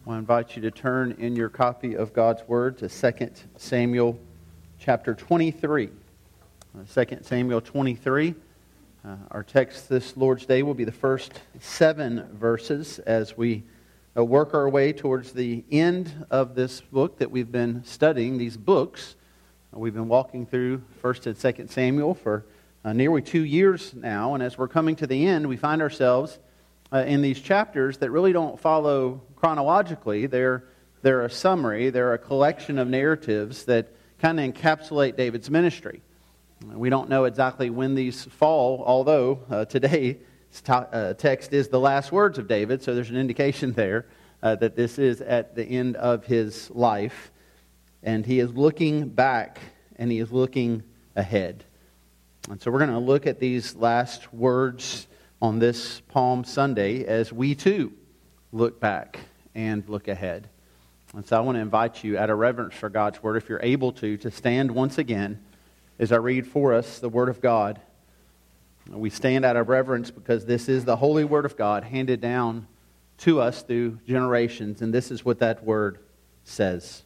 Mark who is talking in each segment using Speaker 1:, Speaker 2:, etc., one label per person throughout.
Speaker 1: I invite you to turn in your copy of God's Word to 2 Samuel chapter 23. 2 Samuel 23. Our text this Lord's Day will be the first 7 verses as we work our way towards the end of this book that we've been studying, these books. We've been walking through 1st and 2nd Samuel for nearly 2 years now, and as we're coming to the end, we find ourselves in these chapters that really don't follow chronologically. They're a summary, they're a collection of narratives that kind of encapsulate David's ministry. We don't know exactly when these fall, although today's text is the last words of David, so there's an indication there that this is at the end of his life. And he is looking back and he is looking ahead. And so we're going to look at these last words on this Palm Sunday as we too look back and look ahead. And so I want to invite you, out of reverence for God's Word, if you're able to stand once again as I read for us the Word of God. We stand out of reverence because this is the holy Word of God handed down to us through generations, and this is what that Word says.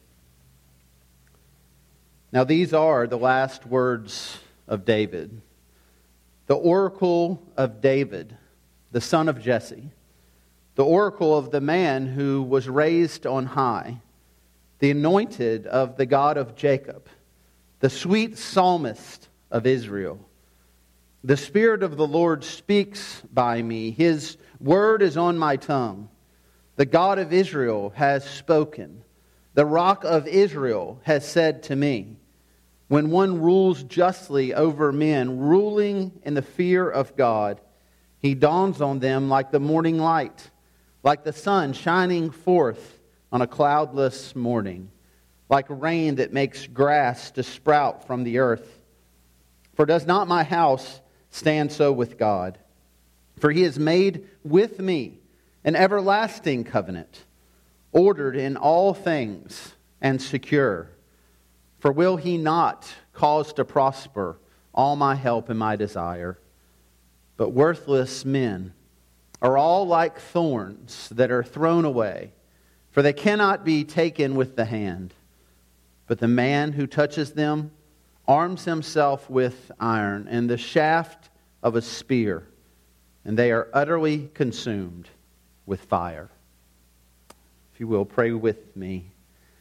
Speaker 1: Now these are the last words of David, the oracle of David, the son of Jesse, the oracle of the man who was raised on high, the anointed of the God of Jacob, the sweet psalmist of Israel. The Spirit of the Lord speaks by me. His word is on my tongue. The God of Israel has spoken. The Rock of Israel has said to me, when one rules justly over men, ruling in the fear of God, he dawns on them like the morning light, like the sun shining forth on a cloudless morning, like rain that makes grass to sprout from the earth. For does not my house stand so with God? For he has made with me an everlasting covenant, ordered in all things and secure. For will he not cause to prosper all my help and my desire? But worthless men are all like thorns that are thrown away, for they cannot be taken with the hand. But the man who touches them arms himself with iron and the shaft of a spear, and they are utterly consumed with fire. If you will, pray with me.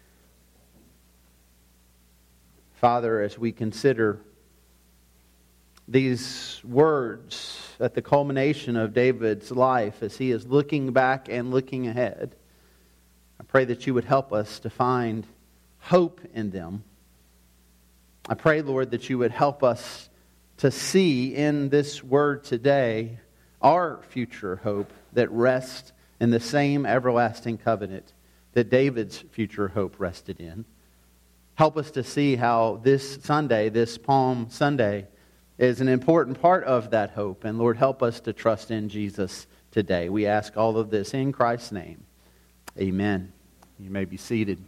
Speaker 1: Father, as we consider these words at the culmination of David's life, as he is looking back and looking ahead, I pray that you would help us to find hope in them. I pray, Lord, that you would help us to see in this word today our future hope that rests in the same everlasting covenant that David's future hope rested in. Help us to see how this Sunday, this Palm Sunday, is an important part of that hope. And Lord, help us to trust in Jesus today. We ask all of this in Christ's name. Amen. You may be seated.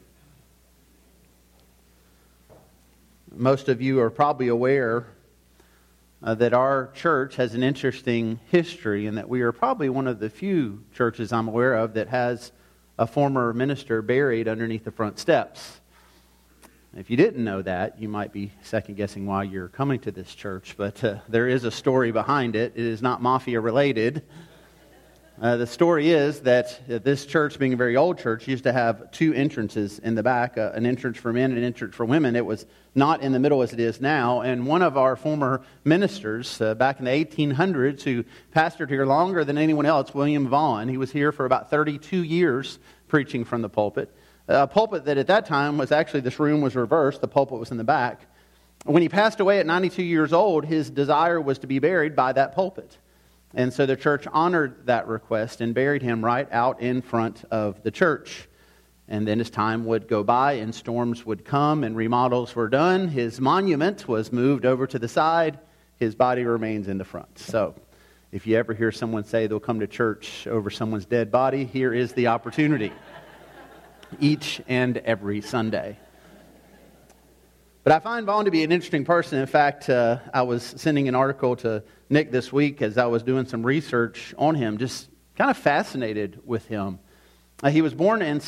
Speaker 1: Most of you are probably aware that our church has an interesting history, and that we are probably one of the few churches I'm aware of that has a former minister buried underneath the front steps. If you didn't know that, you might be second-guessing why you're coming to this church, but there is a story behind it. It is not mafia-related. The story is that this church, being a very old church, used to have 2 entrances in the back, an entrance for men and an entrance for women. It was not in the middle as it is now, and one of our former ministers back in the 1800s who pastored here longer than anyone else, William Vaughn, he was here for about 32 years preaching from the pulpit. A pulpit that at that time was actually, this room was reversed, the pulpit was in the back. When he passed away at 92 years old, his desire was to be buried by that pulpit. And so the church honored that request and buried him right out in front of the church. And then as time would go by and storms would come and remodels were done, his monument was moved over to the side. His body remains in the front. So if you ever hear someone say they'll come to church over someone's dead body, here is the opportunity. Each and every Sunday. But I find Vaughn to be an interesting person. In fact, I was sending an article to Nick this week as I was doing some research on him, just kind of fascinated with him. He was born in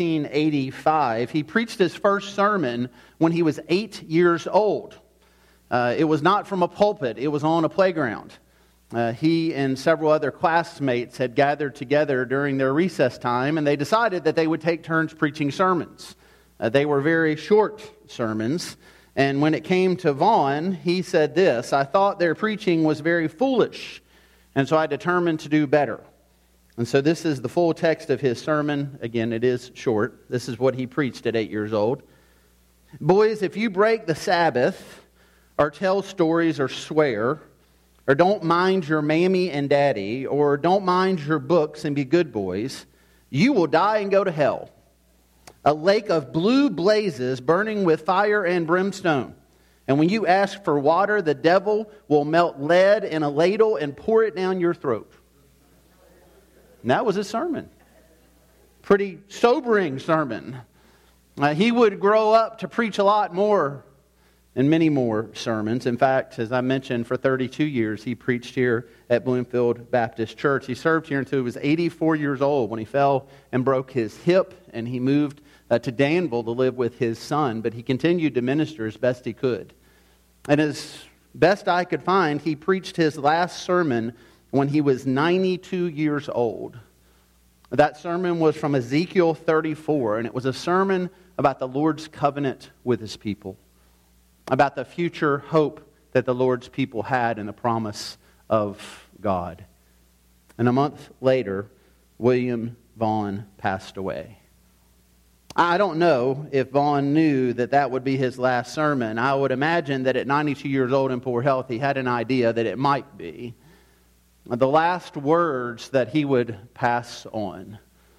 Speaker 1: 1785. He preached his first sermon when he was 8 years old. It was not from a pulpit. It was on a playground. He and several other classmates had gathered together during their recess time, and they decided that they would take turns preaching sermons. They were very short sermons, and when it came to Vaughn, he said this: "I thought their preaching was very foolish, and so I determined to do better." And so this is the full text of his sermon. Again, it is short. This is what he preached at 8 years old. "Boys, if you break the Sabbath, or tell stories, or swear, or don't mind your mammy and daddy, or don't mind your books and be good boys, you will die and go to hell. A lake of blue blazes burning with fire and brimstone. And when you ask for water, the devil will melt lead in a ladle and pour it down your throat." And that was his sermon. Pretty sobering sermon. He would grow up to preach a lot more and many more sermons. In fact, as I mentioned, for 32 years he preached here at Bloomfield Baptist Church. He served here until he was 84 years old when he fell and broke his hip, and he moved to Danville to live with his son. But he continued to minister as best he could. And as best I could find, he preached his last sermon when he was 92 years old. That sermon was from Ezekiel 34, and it was a sermon about the Lord's covenant with his people, about the future hope that the Lord's people had in the promise of God. And a month later, William Vaughn passed away. I don't know if Vaughn knew that that would be his last sermon. I would imagine that at 92 years old in poor health, he had an idea that it might be the last words that he would pass on.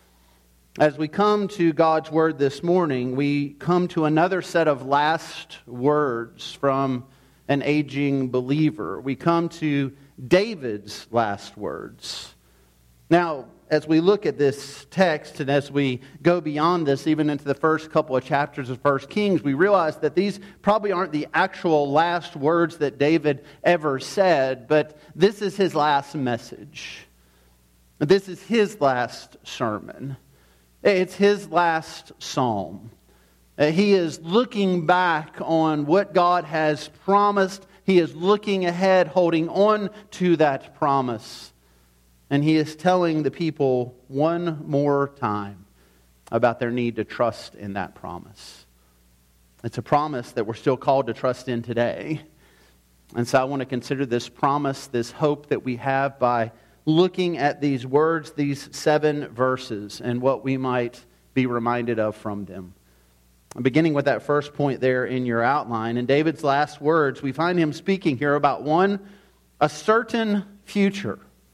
Speaker 1: As we come to God's Word this morning, we come to another set of last words from an aging believer. We come to David's last words. Now, as we look at this text and as we go beyond this, even into the first couple of chapters of 1 Kings, we realize that these probably aren't the actual last words that David ever said, but this is his last message. This is his last sermon. It's his last psalm. He is looking back on what God has promised. He is looking ahead, holding on to that promise. And he is telling the people one more time about their need to trust in that promise. It's a promise that we're still called to trust in today. And so I want to consider this promise, this hope that we have by looking at these words, these 7 verses, and what we might be reminded of from them. Beginning with that first point there in your outline, in David's last words, we find him speaking here about a certain future.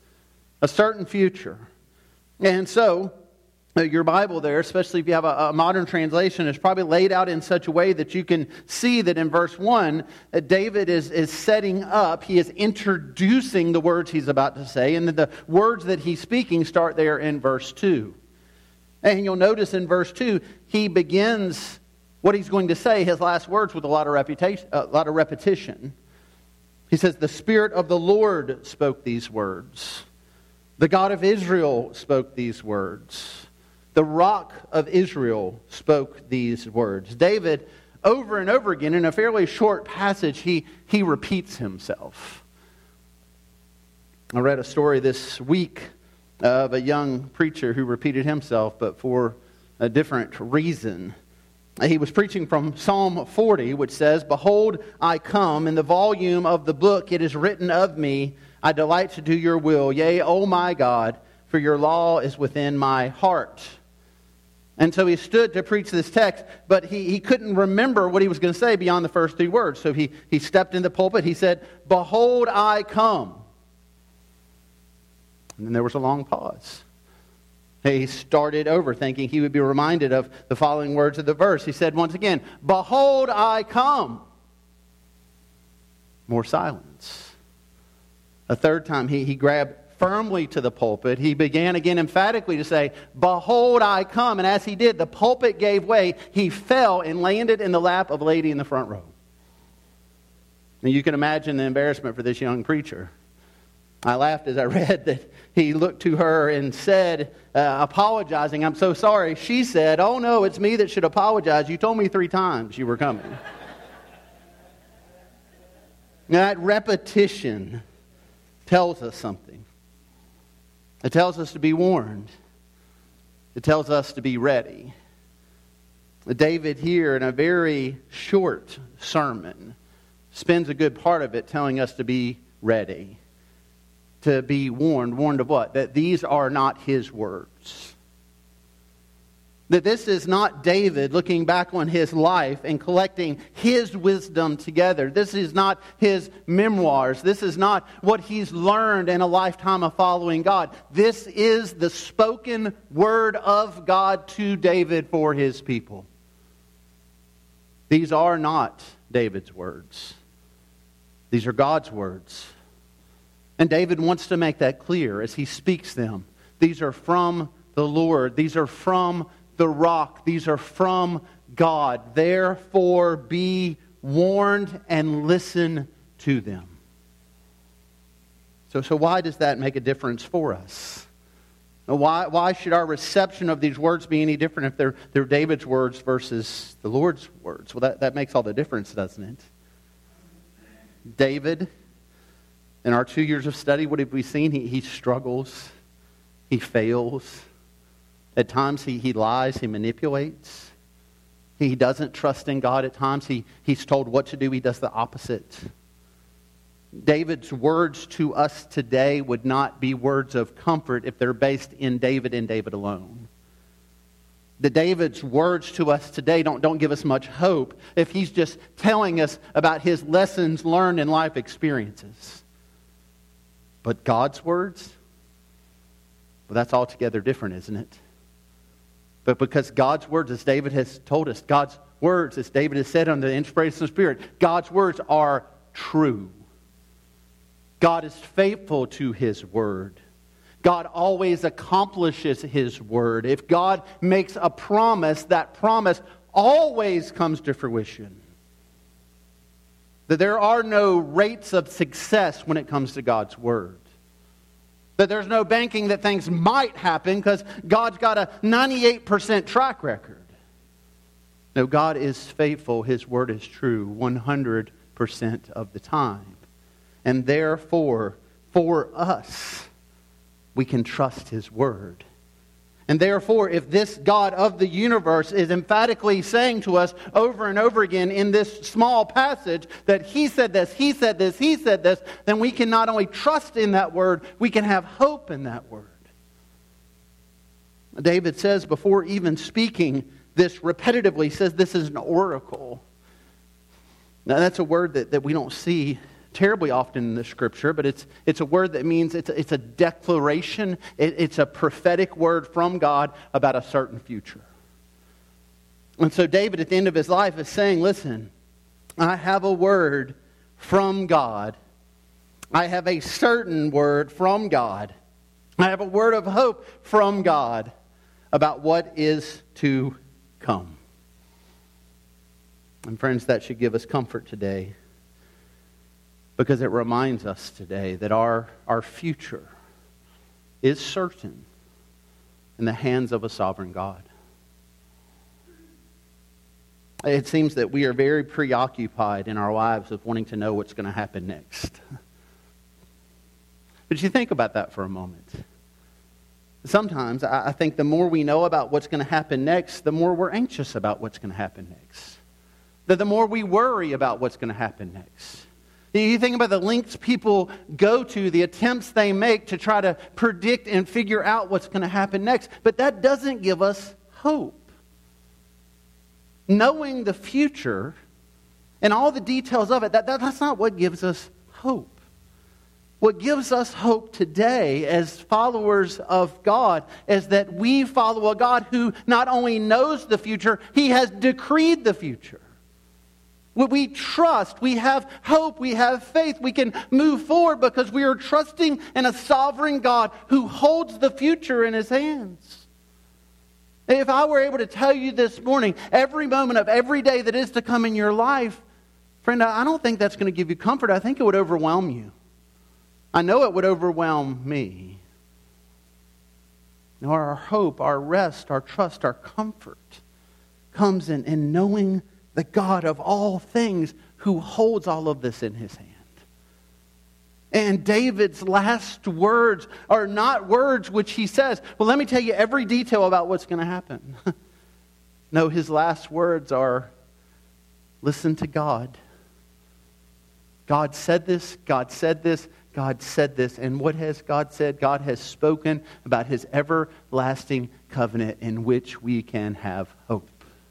Speaker 1: A certain future. And so, your Bible there, especially if you have a modern translation, is probably laid out in such a way that you can see that in verse 1, David is setting up, he is introducing the words he's about to say, and then the words that he's speaking start there in verse 2. And you'll notice in verse 2, he begins what he's going to say, his last words, with a lot of repetition. He says, "The Spirit of the Lord spoke these words. The God of Israel spoke these words. The Rock of Israel spoke these words." David, over and over again, in a fairly short passage, he repeats himself. I read a story this week of a young preacher who repeated himself, but for a different reason. He was preaching from Psalm 40, which says, "Behold, I come. In the volume of the book it is written of me, I delight to do your will. Yea, O my God, for your law is within my heart." And so he stood to preach this text, but he couldn't remember what he was going to say beyond the first 3 words. So he stepped in the pulpit. He said, "Behold, I come." And then there was a long pause. He started over thinking he would be reminded of the following words of the verse. He said once again, "Behold, I come." More silence. A third time, he grabbed firmly to the pulpit. He began again emphatically to say, "Behold, I come." And as he did, the pulpit gave way. He fell and landed in the lap of a lady in the front row. And you can imagine the embarrassment for this young preacher. I laughed as I read that he looked to her and said, apologizing, "I'm so sorry." She said, "Oh no, it's me that should apologize. You told me 3 times you were coming." Now, that repetition tells us something. It tells us to be warned. It tells us to be ready. David here, in a very short sermon, spends a good part of it telling us to be ready. To be warned. Warned of what? That these are not his words. That this is not David looking back on his life and collecting his wisdom together. This is not his memoirs. This is not what he's learned in a lifetime of following God. This is the spoken word of God to David for his people. These are not David's words. These are God's words. And David wants to make that clear as he speaks them. These are from the Lord. These are from the rock. These are from God. Therefore, be warned and listen to them. So why does that make a difference for us? Why should our reception of these words be any different if they're David's words versus the Lord's words? Well, that makes all the difference, doesn't it? David, in our 2 years of study, what have we seen? He struggles. He fails. At times he lies. He manipulates. He doesn't trust in God. At times he's told what to do. He does the opposite. David's words to us today would not be words of comfort if they're based in David and David alone. David's words to us today don't give us much hope if he's just telling us about his lessons learned in life experiences. But God's words, well, that's altogether different, isn't it? But because God's words, as David has told us, God's words, as David has said under the inspiration of the Spirit, God's words are true. God is faithful to His word. God always accomplishes His word. If God makes a promise, that promise always comes to fruition. That there are no rates of success when it comes to God's word. That there's no banking that things might happen because God's got a 98% track record. No, God is faithful. His word is true 100% of the time. And therefore, for us, we can trust His word. And therefore, if this God of the universe is emphatically saying to us over and over again in this small passage that He said this, He said this, He said this, then we can not only trust in that word, we can have hope in that word. David says before even speaking this repetitively, says this is an oracle. Now that's a word that we don't see terribly often in the Scripture, but it's a word that means it's a declaration. It's a prophetic word from God about a certain future. And so David at the end of his life is saying, listen, I have a word from God. I have a certain word from God. I have a word of hope from God about what is to come. And friends, that should give us comfort today. Because it reminds us today that our future is certain in the hands of a sovereign God. It seems that we are very preoccupied in our lives with wanting to know what's going to happen next. But you think about that for a moment. Sometimes I think the more we know about what's going to happen next, the more we're anxious about what's going to happen next. The more we worry about what's going to happen next. You think about the lengths people go to, the attempts they make to try to predict and figure out what's going to happen next. But that doesn't give us hope. Knowing the future and all the details of it, that's not what gives us hope. What gives us hope today as followers of God is that we follow a God who not only knows the future, He has decreed the future. We trust, we have hope, we have faith. We can move forward because we are trusting in a sovereign God who holds the future in His hands. If I were able to tell you this morning, every moment of every day that is to come in your life, friend, I don't think that's going to give you comfort. I think it would overwhelm you. I know it would overwhelm me. No, our hope, our rest, our trust, our comfort comes in knowing the God of all things who holds all of this in his hand. And David's last words are not words which he says, well, let me tell you every detail about what's going to happen. No, his last words are, listen to God. God said this, God said this, God said this. And what has God said? God has spoken about his everlasting covenant in which we can have hope.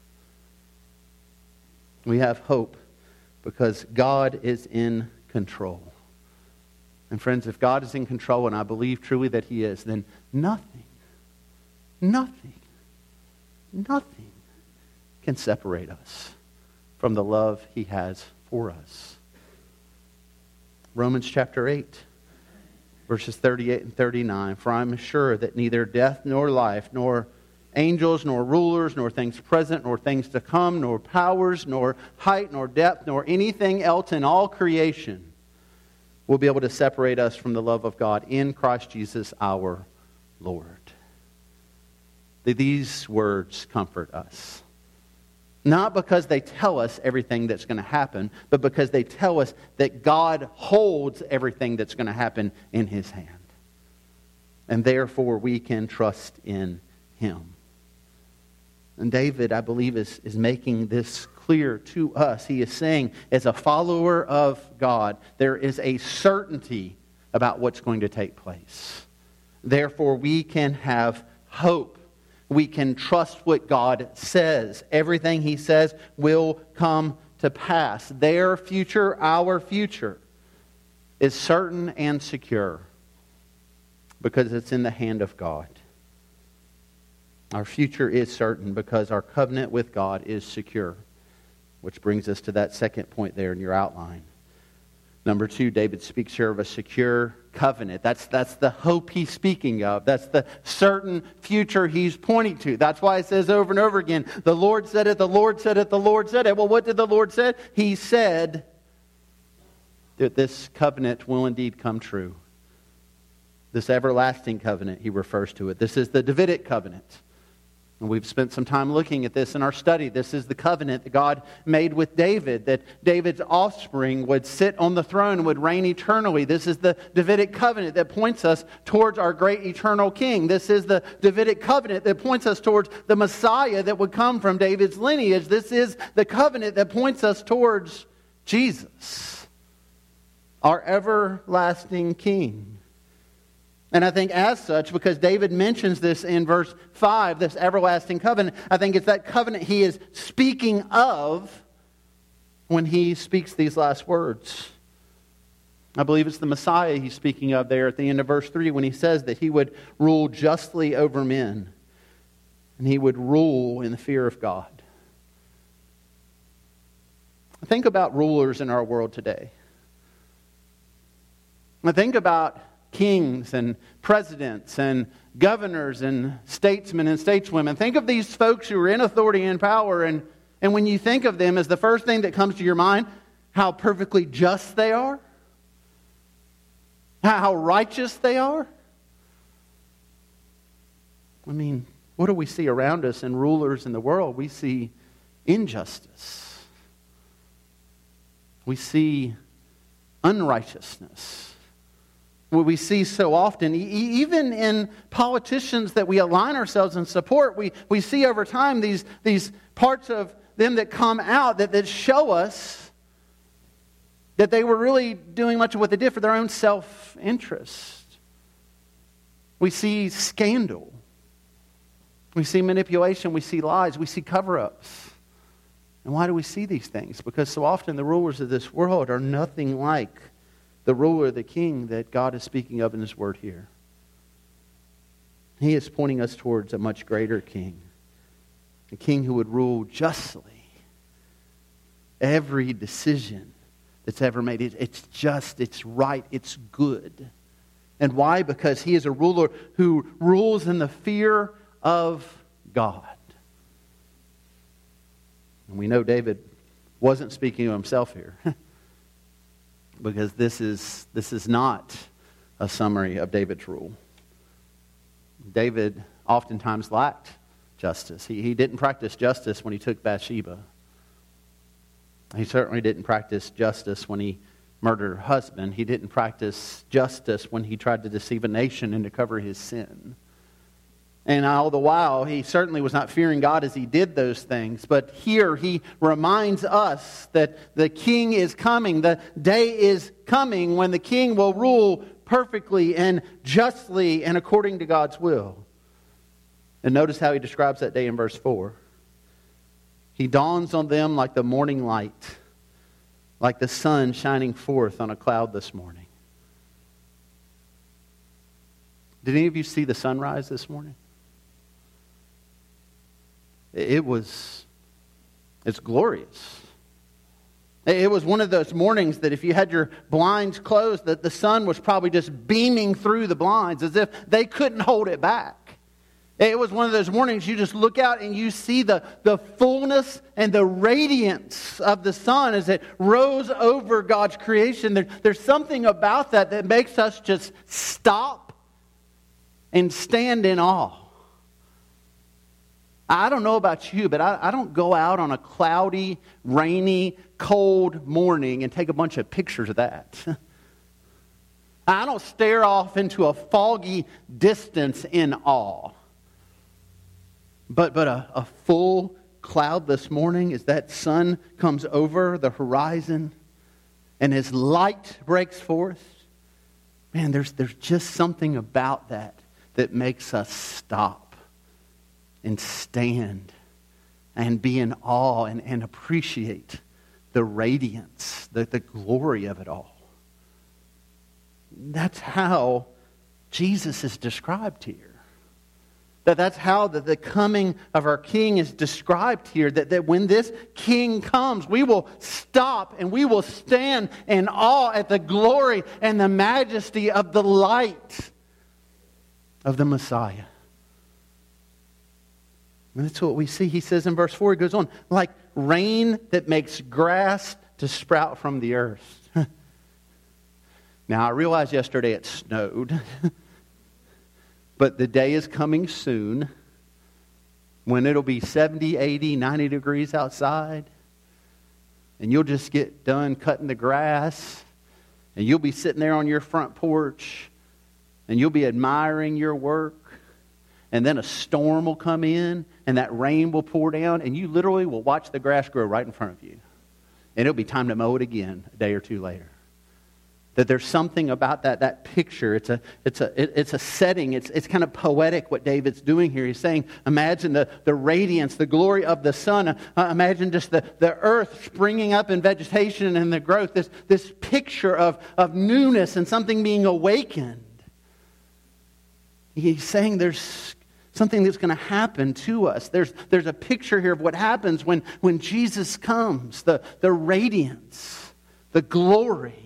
Speaker 1: We have hope because God is in control. And friends, if God is in control, and I believe truly that he is, then nothing can separate us from the love he has for us. Romans chapter 8, verses 38 and 39. For I am sure that neither death nor life, nor angels, nor rulers, nor things present, nor things to come, nor powers, nor height, nor depth, nor anything else in all creation will be able to separate us from the love of God in Christ Jesus our Lord. These words comfort us. Not because they tell us everything that's going to happen, but because they tell us that God holds everything that's going to happen in his hand. And therefore we can trust in him. And David, I believe, is making this clear to us. He is saying, as a follower of God, there is a certainty about what's going to take place. Therefore, we can have hope. We can trust what God says. Everything he says will come to pass. Their future, our future, is certain and secure because it's in the hand of God. Our future is certain because our covenant with God is secure. Which brings us to that second point there in your outline. Number 2, David speaks here of a secure covenant. That's the hope he's speaking of. That's the certain future he's pointing to. That's why it says over and over again, the Lord said it, the Lord said it, the Lord said it. Well, what did the Lord say? He said that this covenant will indeed come true. This everlasting covenant, he refers to it. This is the Davidic covenant. And we've spent some time looking at this in our study. This is the covenant that God made with David, that David's offspring would sit on the throne and would reign eternally. This is the Davidic covenant that points us towards our great eternal king. This is the Davidic covenant that points us towards the Messiah that would come from David's lineage. This is the covenant that points us towards Jesus, our everlasting king. And I think as such, because David mentions this in verse 5, this everlasting covenant, I think it's that covenant he is speaking of when he speaks these last words. I believe it's the Messiah he's speaking of there at the end of verse 3 when he says that he would rule justly over men and he would rule in the fear of God. Think about rulers in our world today. I think about kings and presidents and governors and statesmen and stateswomen. Think of these folks who are in authority and power, and when you think of them, is the first thing that comes to your mind how perfectly just they are? How righteous they are? I mean, what do we see around us in rulers in the world? We see injustice. We see unrighteousness. What we see so often, even in politicians that we align ourselves and support, we see over time these parts of them that come out that show us that they were really doing much of what they did for their own self-interest. We see scandal. We see manipulation. We see lies. We see cover-ups. And why do we see these things? Because so often the rulers of this world are nothing like the ruler, the king that God is speaking of in his word here. He is pointing us towards a much greater king. A king who would rule justly. Every decision that's ever made, it's just, it's right, it's good. And why? Because he is a ruler who rules in the fear of God. And we know David wasn't speaking of himself here. Because this is not a summary of David's rule. David oftentimes lacked justice. He didn't practice justice when he took Bathsheba. He certainly didn't practice justice when he murdered her husband. He didn't practice justice when he tried to deceive a nation and to cover his sin. And all the while, he certainly was not fearing God as he did those things. But here he reminds us that the king is coming. The day is coming when the king will rule perfectly and justly and according to God's will. And notice how he describes that day in verse 4. He dawns on them like the morning light, like the sun shining forth on a cloud this morning. Did any of you see the sunrise this morning? It's glorious. It was one of those mornings that if you had your blinds closed, that the sun was probably just beaming through the blinds as if they couldn't hold it back. It was one of those mornings you just look out and you see the fullness and the radiance of the sun as it rose over God's creation. There's something about that makes us just stop and stand in awe. I don't know about you, but I don't go out on a cloudy, rainy, cold morning and take a bunch of pictures of that. I don't stare off into a foggy distance in awe. But a full cloudless morning as that sun comes over the horizon and his light breaks forth, man, there's just something about that makes us stop and stand and be in awe and appreciate the radiance, the glory of it all. That's how Jesus is described here. That's how the coming of our King is described here. That when this King comes, we will stop and we will stand in awe at the glory and the majesty of the light of the Messiah. And that's what we see. He says in verse 4, he goes on, like rain that makes grass to sprout from the earth. Now, I realized yesterday it snowed. But the day is coming soon when it'll be 70, 80, 90 degrees outside. And you'll just get done cutting the grass. And you'll be sitting there on your front porch. And you'll be admiring your work. And then a storm will come in, and that rain will pour down, and you literally will watch the grass grow right in front of you. And it'll be time to mow it again a day or two later. That there's something about that picture. It's a setting. It's kind of poetic what David's doing here. He's saying, imagine the radiance, the glory of the sun. Imagine just the earth springing up in vegetation and the growth. This picture of newness and something being awakened. He's saying there's something that's going to happen to us. There's a picture here of what happens when Jesus comes. The radiance, the glory.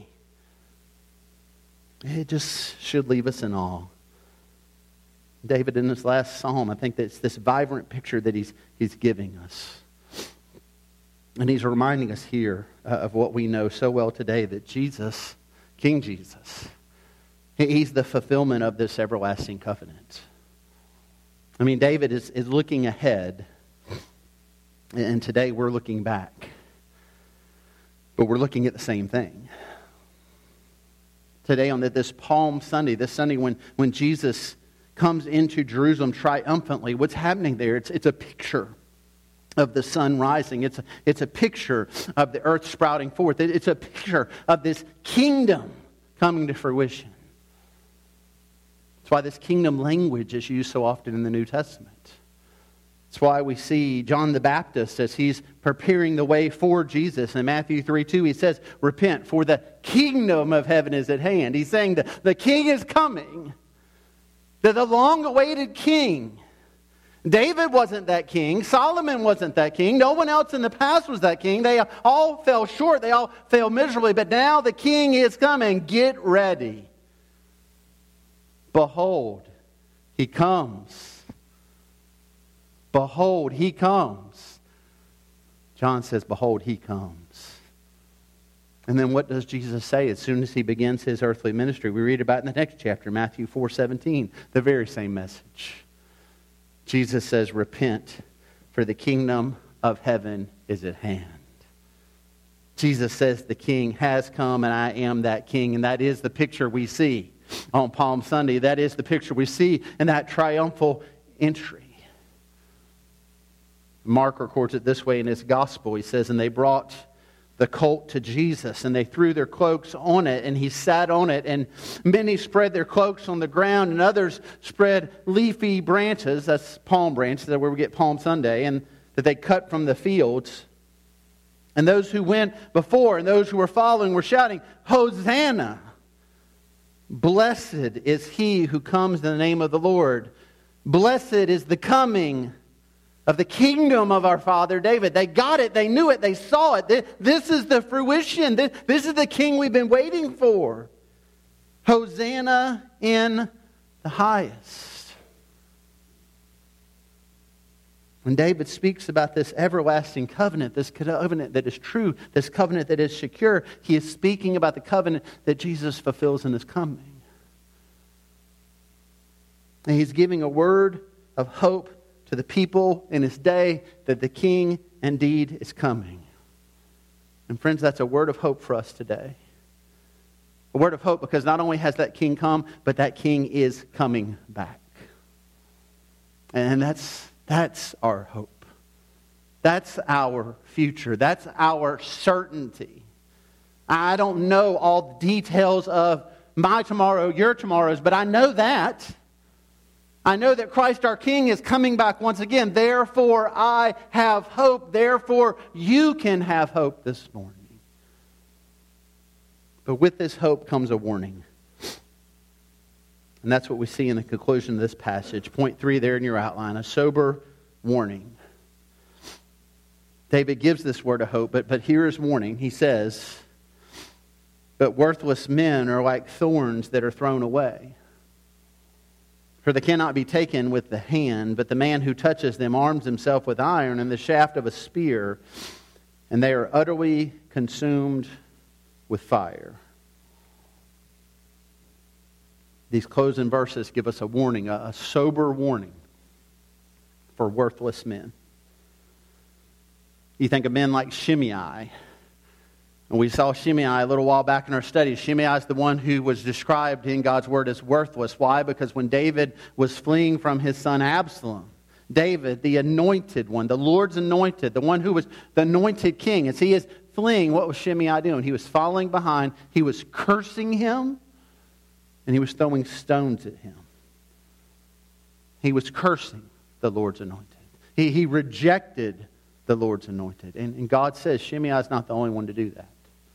Speaker 1: It just should leave us in awe. David, in this last psalm, I think that's this vibrant picture that he's giving us. And he's reminding us here of what we know so well today, that Jesus, King Jesus, he's the fulfillment of this everlasting covenant. I mean, David is looking ahead, and today we're looking back. But we're looking at the same thing. Today on this Palm Sunday, this Sunday when Jesus comes into Jerusalem triumphantly, what's happening there? It's a picture of the sun rising. It's a picture of the earth sprouting forth. It's a picture of this kingdom coming to fruition. That's why this kingdom language is used so often in the New Testament. That's why we see John the Baptist as he's preparing the way for Jesus. In Matthew 3:2, he says, repent, for the kingdom of heaven is at hand. He's saying that the king is coming. That the long-awaited king. David wasn't that king. Solomon wasn't that king. No one else in the past was that king. They all fell short. They all failed miserably. But now the king is coming. Get ready. Behold, he comes. Behold, he comes. John says, behold, he comes. And then what does Jesus say as soon as he begins his earthly ministry? We read about it in the next chapter, Matthew 4:17, the very same message. Jesus says, repent, for the kingdom of heaven is at hand. Jesus says the King has come, and I am that King. And that is the picture we see on Palm Sunday. That is the picture we see in that triumphal entry. Mark records it this way in his gospel. He says, and they brought the colt to Jesus, and they threw their cloaks on it, and he sat on it, and many spread their cloaks on the ground, and others spread leafy branches, that's palm branches, that's where we get Palm Sunday, and that they cut from the fields. And those who went before and those who were following were shouting, Hosanna! Blessed is he who comes in the name of the Lord. Blessed is the coming of the kingdom of our father David. They got it, they knew it, they saw it. This is the fruition. This is the king we've been waiting for. Hosanna in the highest. When David speaks about this everlasting covenant, this covenant that is true, this covenant that is secure, he is speaking about the covenant that Jesus fulfills in his coming. And he's giving a word of hope to the people in his day that the King indeed is coming. And friends, that's a word of hope for us today. A word of hope because not only has that King come, but that King is coming back. And that's our hope. That's our future. That's our certainty. I don't know all the details of my tomorrow, your tomorrows, but I know that. I know that Christ our King is coming back once again. Therefore, I have hope. Therefore, you can have hope this morning. But with this hope comes a warning. And that's what we see in the conclusion of this passage. Point 3 there in your outline, a sober warning. David gives this word of hope, but here is warning. He says, but worthless men are like thorns that are thrown away. For they cannot be taken with the hand, but the man who touches them arms himself with iron and the shaft of a spear, and they are utterly consumed with fire. These closing verses give us a warning, a sober warning for worthless men. You think of men like Shimei. And we saw Shimei a little while back in our studies. Shimei is the one who was described in God's Word as worthless. Why? Because when David was fleeing from his son Absalom, David, the anointed one, the Lord's anointed, the one who was the anointed king, as he is fleeing, what was Shimei doing? He was following behind, he was cursing him, and he was throwing stones at him. He was cursing the Lord's anointed. He rejected the Lord's anointed. And God says Shimei is not the only one to do that.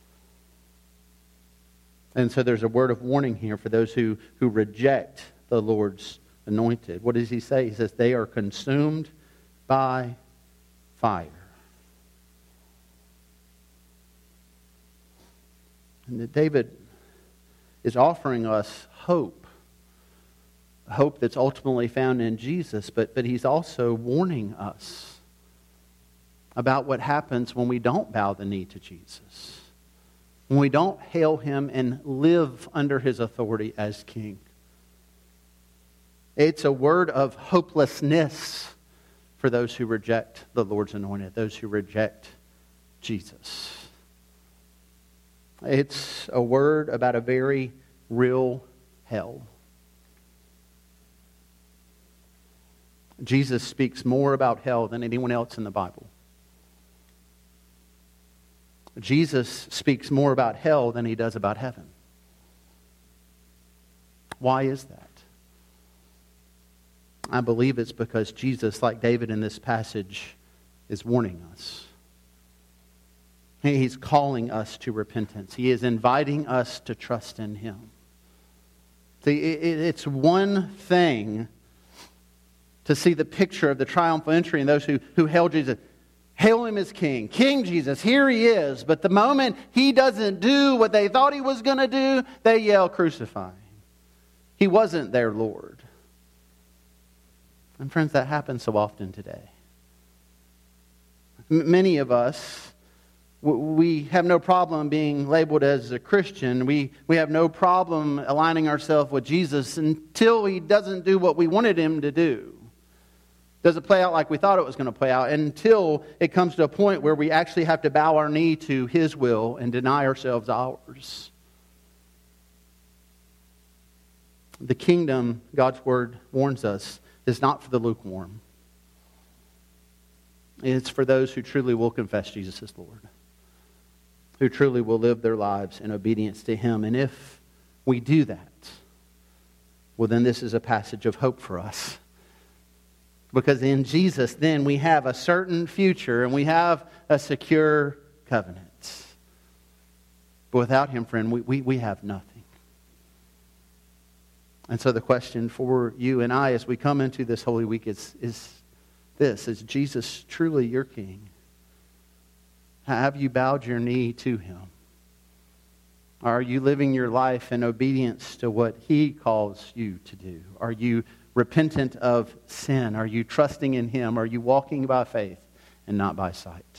Speaker 1: And so there's a word of warning here for those who reject the Lord's anointed. What does he say? He says they are consumed by fire. And that David is offering us hope. Hope that's ultimately found in Jesus, but he's also warning us about what happens when we don't bow the knee to Jesus. When we don't hail him and live under his authority as king. It's a word of hopelessness for those who reject the Lord's anointed, those who reject Jesus. It's a word about a very real hell. Jesus speaks more about hell than anyone else in the Bible. Jesus speaks more about hell than he does about heaven. Why is that? I believe it's because Jesus, like David in this passage, is warning us. He's calling us to repentance. He is inviting us to trust in him. See, it's one thing to see the picture of the triumphal entry and those who hail Jesus. Hail him as king. King Jesus, here he is. But the moment he doesn't do what they thought he was going to do, they yell, crucify him. He wasn't their Lord. And friends, that happens so often today. Many of us, We have no problem being labeled as a Christian. We have no problem aligning ourselves with Jesus until He doesn't do what we wanted Him to do. Doesn't play out like we thought it was going to play out, until it comes to a point where we actually have to bow our knee to His will and deny ourselves ours. The kingdom, God's Word warns us, is not for the lukewarm. It's for those who truly will confess Jesus as Lord, who truly will live their lives in obedience to Him. And if we do that, well, then this is a passage of hope for us. Because in Jesus, then we have a certain future and we have a secure covenant. But without Him, friend, we have nothing. And so the question for you and I as we come into this Holy Week is this: is Jesus truly your King? Have you bowed your knee to Him? Are you living your life in obedience to what He calls you to do? Are you repentant of sin? Are you trusting in Him? Are you walking by faith and not by sight?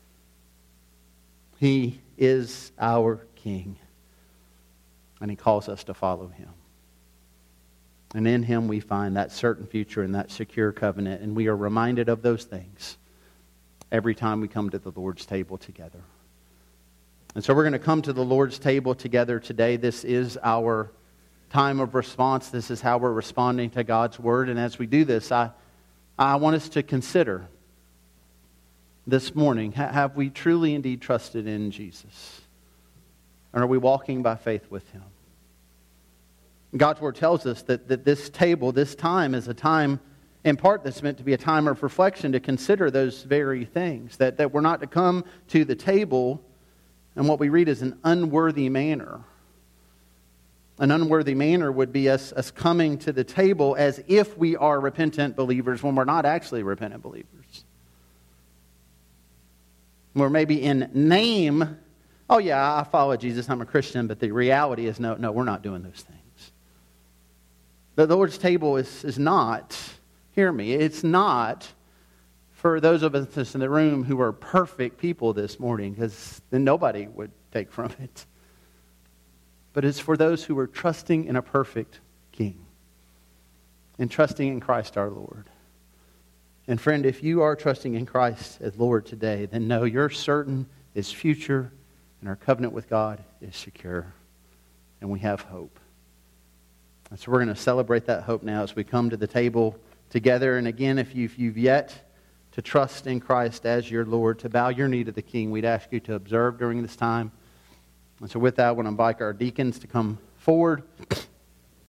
Speaker 1: He is our King, and He calls us to follow Him. And in Him we find that certain future and that secure covenant, and we are reminded of those things every time we come to the Lord's table together. And so we're going to come to the Lord's table together today. This is our time of response. This is how we're responding to God's Word. And as we do this, I want us to consider this morning, have we truly indeed trusted in Jesus? And are we walking by faith with Him? God's Word tells us that this table, this time, is a time in part that's meant to be a time of reflection, to consider those very things. That we're not to come to the table in what we read as an unworthy manner. An unworthy manner would be us coming to the table as if we are repentant believers when we're not actually repentant believers. We're maybe in name, oh yeah, I follow Jesus, I'm a Christian, but the reality is no, we're not doing those things. The Lord's table is not, hear me, it's not for those of us in the room who are perfect people this morning, because then nobody would take from it. But it's for those who are trusting in a perfect King and trusting in Christ our Lord. And friend, if you are trusting in Christ as Lord today, then know you're certain His future and our covenant with God is secure. And we have hope. And so we're going to celebrate that hope now as we come to the table together. And again, if you've yet to trust in Christ as your Lord, to bow your knee to the King, we'd ask you to observe during this time. And so with that, I want to invite our deacons to come forward.